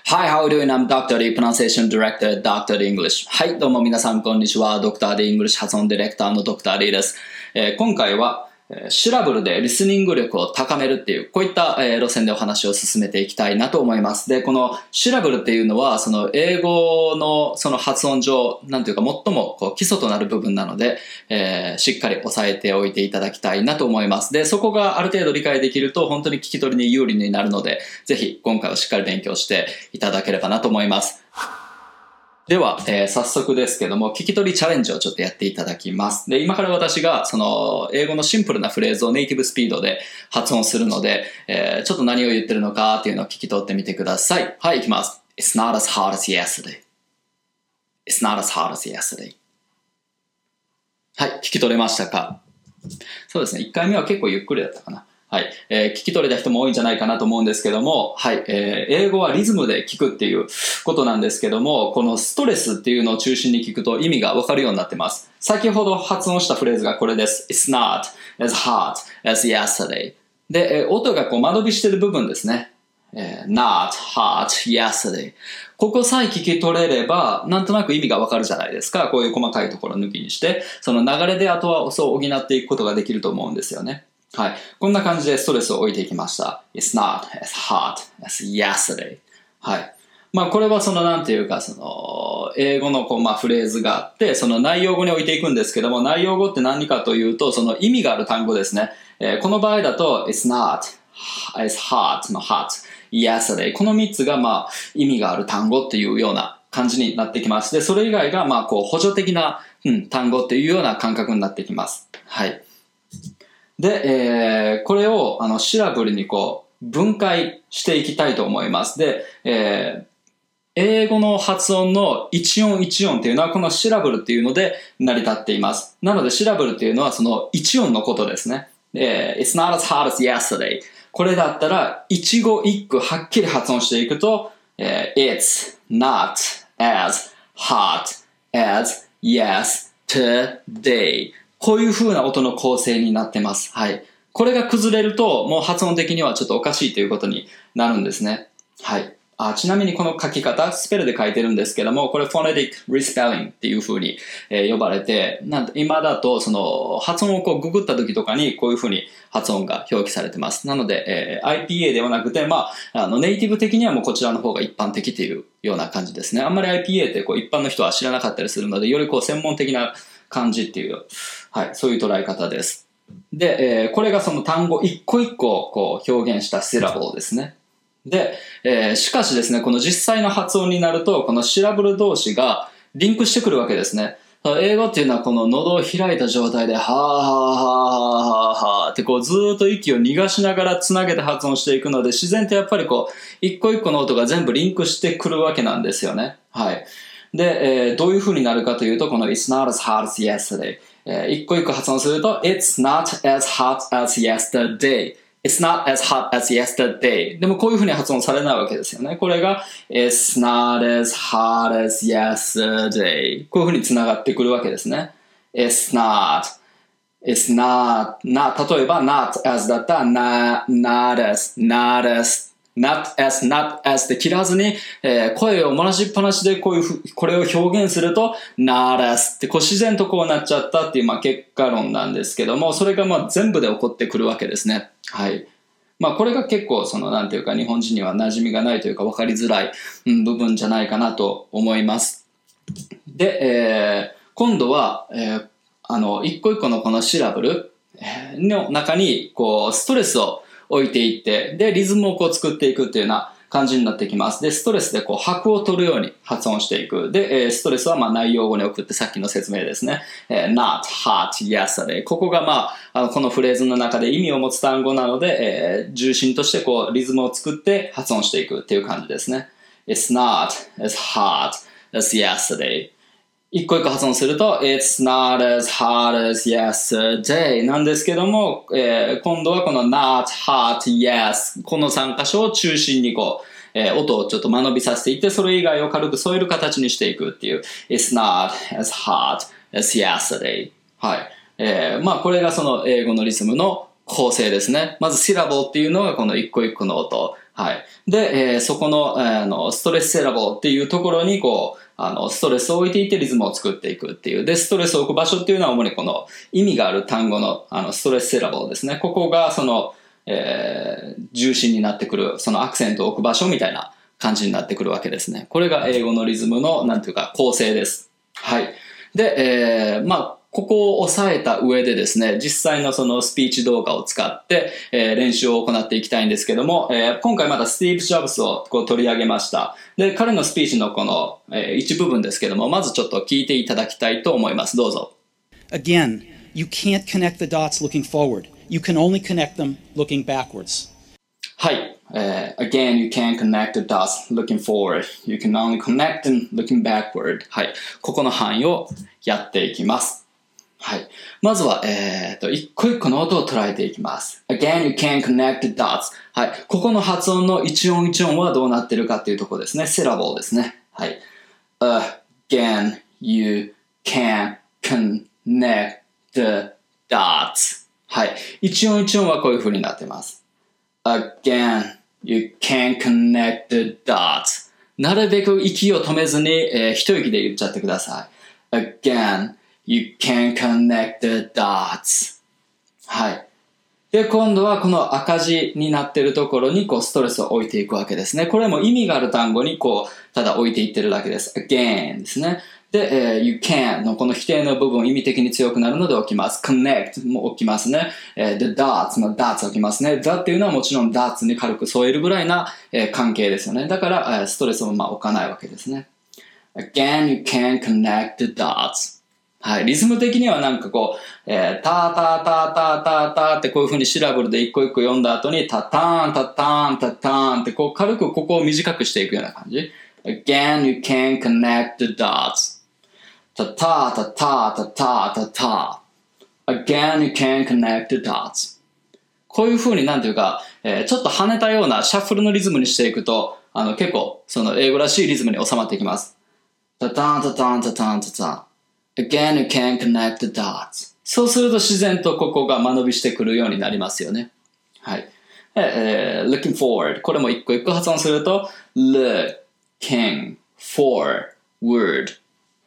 Hi, how are you doing? I'm Dr. D, Pronunciation Director at Dr. D English. はい、どうも皆さんこんにちは。Dr. D English 発音ディレクターの Dr. D です。今回はシラブルでリスニング力を高めるっていう、こういった路線でお話を進めていきたいなと思います。で、このシラブルっていうのは、その英語のその発音上、なんていうか最もこう基礎となる部分なので、しっかり押さえておいていただきたいなと思います。で、そこがある程度理解できると、本当に聞き取りに有利になるので、ぜひ今回はしっかり勉強していただければなと思います。では、早速ですけども、聞き取りチャレンジをちょっとやっていただきます。で、今から私が、その、英語のシンプルなフレーズをネイティブスピードで発音するので、ちょっと何を言ってるのかっていうのを聞き取ってみてください。はい、いきます。It's not as hard as yesterday. It's not as hard as yesterday. はい、聞き取れましたか？そうですね、1回目は結構ゆっくりだったかな。はい、聞き取れた人も多いんじゃないかなと思うんですけども、はい、英語はリズムで聞くっていうことなんですけども、このストレスっていうのを中心に聞くと意味がわかるようになってます。先ほど発音したフレーズがこれです。It's not as hot as yesterday. で、音がこう間延びしてる部分ですね。not hot yesterday. ここさえ聞き取れれば、なんとなく意味がわかるじゃないですか。こういう細かいところ抜きにして、その流れであとはそう補っていくことができると思うんですよね。はい。こんな感じでストレスを置いていきました。It's not as hot as yesterday. はい。まあこれはそのなんていうかその英語のこうまあフレーズがあってその内容語に置いていくんですけども内容語って何かというとその意味がある単語ですね。この場合だと It's not as hot の hot yesterday この3つがまあ意味がある単語っていうような感じになってきます。でそれ以外がまあこう補助的な、単語っていうような感覚になってきます。はい。で、これをシラブルにこう分解していきたいと思います。で、英語の発音の一音一音っていうのはこのシラブルっていうので成り立っています。なのでシラブルっていうのはその一音のことですね。It's not as hot as yesterday. これだったら一語一句はっきり発音していくと、It's not as hot as yesterday.こういう風な音の構成になってます。はい。これが崩れると、もう発音的にはちょっとおかしいということになるんですね。はい。ちなみにこの書き方、スペルで書いてるんですけども、これ phonetic respelling っていう風に、呼ばれて、今だとその発音をこうググった時とかにこういう風に発音が表記されてます。なので、IPA ではなくて、まあ、ネイティブ的にはもうこちらの方が一般的っていうような感じですね。あんまり IPA ってこう一般の人は知らなかったりするので、よりこう専門的な感じっていう、はい、そういう捉え方です。で、これがその単語一個一個こう表現したシラブルですね。で、しかしですね、この実際の発音になると、このシラブル同士がリンクしてくるわけですね。英語っていうのはこの喉を開いた状態で、はーはーはーはーはーってこうずーっと息を逃がしながらつなげて発音していくので、自然とやっぱりこう、一個一個の音が全部リンクしてくるわけなんですよね。はい。で、どういう風になるかというと、この It's not as hot as yesterday。一個一個発音すると It's not as hot as yesterday。It's not as hot as yesterday。でもこういう風に発音されないわけですよね。これが It's not as hot as yesterday。こういう風に繋がってくるわけですね。It's not。It's not。例えば not as だったら not as。not as って切らずに、声を漏らしっぱなしでこれを表現すると not as ってこう自然とこうなっちゃったっていうまあ結果論なんですけども、それがまあ全部で起こってくるわけですね。はい。まあこれが結構そのなんていうか日本人には馴染みがないというか分かりづらい、部分じゃないかなと思います。で、今度は、一個一個のこのシラブルの中にこうストレスを置いていって、で、リズムをこう作っていくっていうような感じになってきます。で、ストレスでこう拍を取るように発音していく。で、ストレスはまあ内容語に送ってさっきの説明ですね。not hot yesterday。ここがまあ、このフレーズの中で意味を持つ単語なので、重心としてこうリズムを作って発音していくっていう感じですね。It's not as hot as yesterday。一個一個発音すると It's not as hot as yesterday なんですけども、今度はこの not hot yes この3箇所を中心にこう、音をちょっと間延びさせていってそれ以外を軽く添える形にしていくっていう It's not as hot as yesterday はい、まあこれがその英語のリズムの構成ですね。まずシラボっていうのがこの一個一個の音はい。で、そこの、ストレスセラボっていうところに、ストレスを置いていってリズムを作っていくっていう。で、ストレスを置く場所っていうのは主にこの意味がある単語の、ストレスセラボですね。ここが重心になってくる、そのアクセントを置く場所みたいな感じになってくるわけですね。これが英語のリズムの、なんていうか、構成です。はい。で、ここを押さえた上でですね、実際のそのスピーチ動画を使って、練習を行っていきたいんですけども、今回またスティーブ・ジョブズを取り上げました。で、彼のスピーチのこの、一部分ですけども、まずちょっと聞いていただきたいと思います。どうぞ。 Again, you can't connect the dots looking forward. You can only connect them looking backwards. はい。Again, you can't connect the dots looking forward. You can only connect them looking backward. はい。ここの範囲をやっていきます。はい。まずは、一個一個の音を捉えていきます。Again, you can't connect the dots. はい。ここの発音の一音一音はどうなってるかっていうところですね。セラボーですね。はい。Again, you can't connect the dots. はい。一音一音はこういう風になってます。Again, you can't connect the dots. なるべく息を止めずに、一息で言っちゃってください。Again, you can't connect the dots. はい。で、今度はこの赤字になっているところにストレスを置いていくわけですね。これも意味がある単語にただ置いていってるだけです。again ですね。で、you can のこの否定の部分意味的に強くなるので起きます。connect も起きますね。the dots の dots 起きますね。the っていうのはもちろん dots に軽く添えるぐらいな、関係ですよね。だから、ストレスを置かないわけですね。again, you can't connect the dots. はい。リズム的にはタタタタタタってこういう風にシラブルで一個一個読んだ後にタターンタターンタターンって軽くここを短くしていくような感じ。Again, you can't connect the dots. タタタタタタタタ Again, you can't connect the dots. こういう風にちょっと跳ねたようなシャッフルのリズムにしていくと、結構その英語らしいリズムに収まっていきます。タタンタタンタタンタタンAgain, you can't connect the dots. そうすると自然とここが間延びしてくるようになりますよね。はい。looking forward. これも一個一個発音すると looking forward.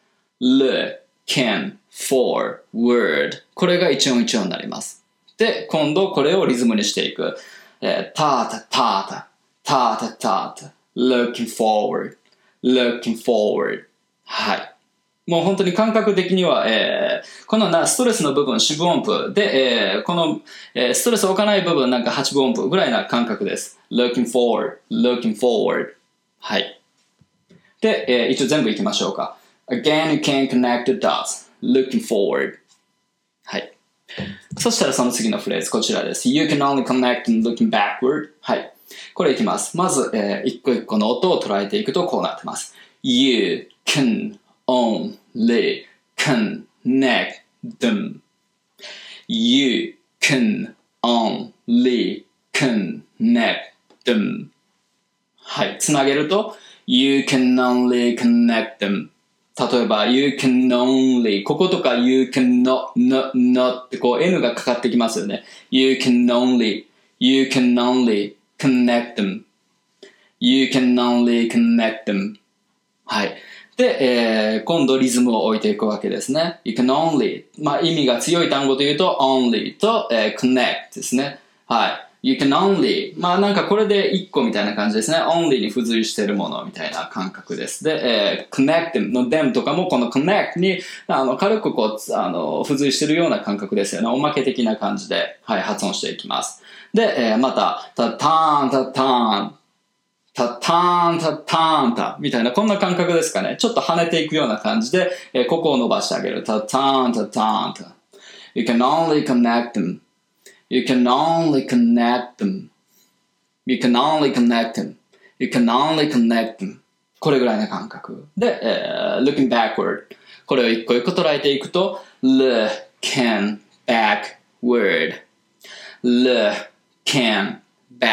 looking forward. これが一音一音になります。で、今度これをリズムにしていく。タタタタタタタタ looking forward. looking forward. はい。もう本当に感覚的には、このストレスの部分四分音符で、この、ストレスを置かない部分八分音符ぐらいな感覚です。looking forward, looking forward. はい。で、一応全部いきましょうか。Again, you can't connect the dots. looking forward. はい。そしたらその次のフレーズこちらです。You can only connect and looking backward. はい。これいきます。まず、一個一個の音を捉えていくとこうなってます。You can only connect them. You can only connect them. はい。つなげると You can only connect them. 例えば You can only こことか You can not ってN がかかってきますよね。You can only connect them. You can only connect them. はい。で、今度リズムを置いていくわけですね。You can only 意味が強い単語というと only と、connect ですね。はい。You can only これで1個みたいな感じですね。only に付随しているものみたいな感覚です。で、connect の them とかもこの connect に軽く付随しているような感覚ですよね。おまけ的な感じで、はい、発音していきます。で、また、タターンタターンタターンタターンタみたいなこんな感覚ですかね。ちょっと跳ねていくような感じで、ここを伸ばしてあげる。タターンタターンタ You can only connect them. You can only connect them. You can only connect them. You can only connect them. これぐらいの感覚。で、looking backward. これを一個一個捉えていくと looking backward. looking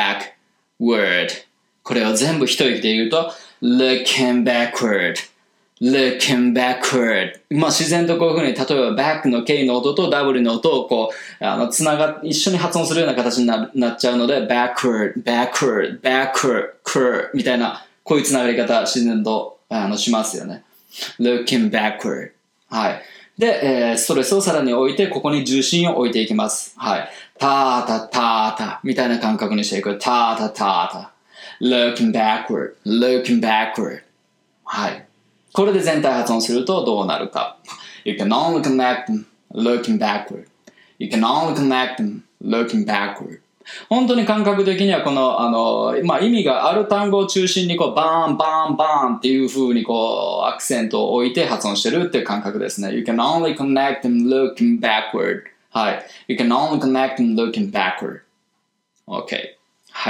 backward. これを全部一息で言うと looking backward, looking backward。まあ自然とこういう風に、例えば back の K の音と W の音をこう、一緒に発音するような形になっちゃうので、backward, backward, backward, みたいな、こういうつながり方、自然と、しますよね。looking backward。はい。で、ストレスをさらに置いて、ここに重心を置いていきます。はい。タータタータみたいな感覚にしていく。タータタータ。looking backward, looking backward。はい。これで全体発音するとどうなるか。You can only connect them, looking backward. You can only connect them, looking backward. 本当に感覚的にはこの、まあ、意味がある単語を中心にこうバーンバーンバーンっていう風にこうアクセントを置いて発音してるっていう感覚ですね。You can only connect them looking backward. はい。You can only connect them looking backward. OK。はい。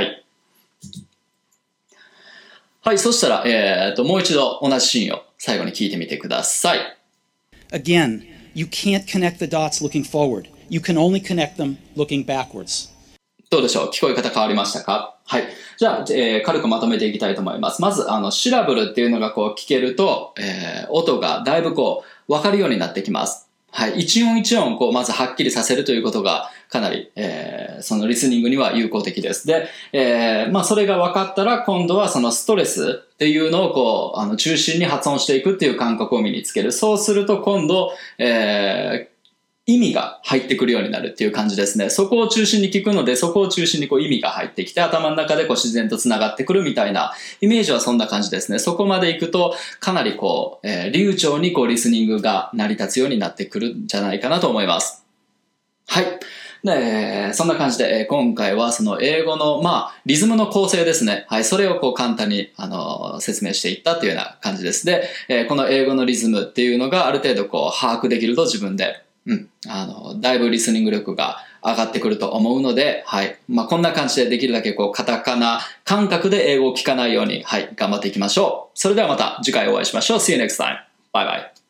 はい。そしたら、もう一度同じシーンを最後に聞いてみてください。 Again, you can't connect the dots looking forward. You can only connect them looking backwards. どうでしょう？聞こえ方変わりましたか？はい。じゃあ、軽くまとめていきたいと思います。まず、シラブルっていうのがこう聞けると、音がだいぶこう、わかるようになってきます。はい。一音一音こう、まずはっきりさせるということが、かなり、そのリスニングには有効的です。で、まあ、それが分かったら、今度はそのストレスっていうのをこう、中心に発音していくっていう感覚を身につける。そうすると、今度、意味が入ってくるようになるっていう感じですね。そこを中心に聞くので、そこを中心にこう意味が入ってきて、頭の中でこう自然と繋がってくるみたいなイメージはそんな感じですね。そこまで行くと、かなりこう、流暢にこうリスニングが成り立つようになってくるんじゃないかなと思います。はい。で、そんな感じで、今回はその英語の、まあ、リズムの構成ですね。はい。それをこう簡単に、説明していったというような感じです。で、この英語のリズムっていうのがある程度こう把握できると自分で、だいぶリスニング力が上がってくると思うので、はい。まあ、こんな感じでできるだけこう、カタカナ感覚で英語を聞かないように、はい、頑張っていきましょう。それではまた次回お会いしましょう。See you next time. Bye bye.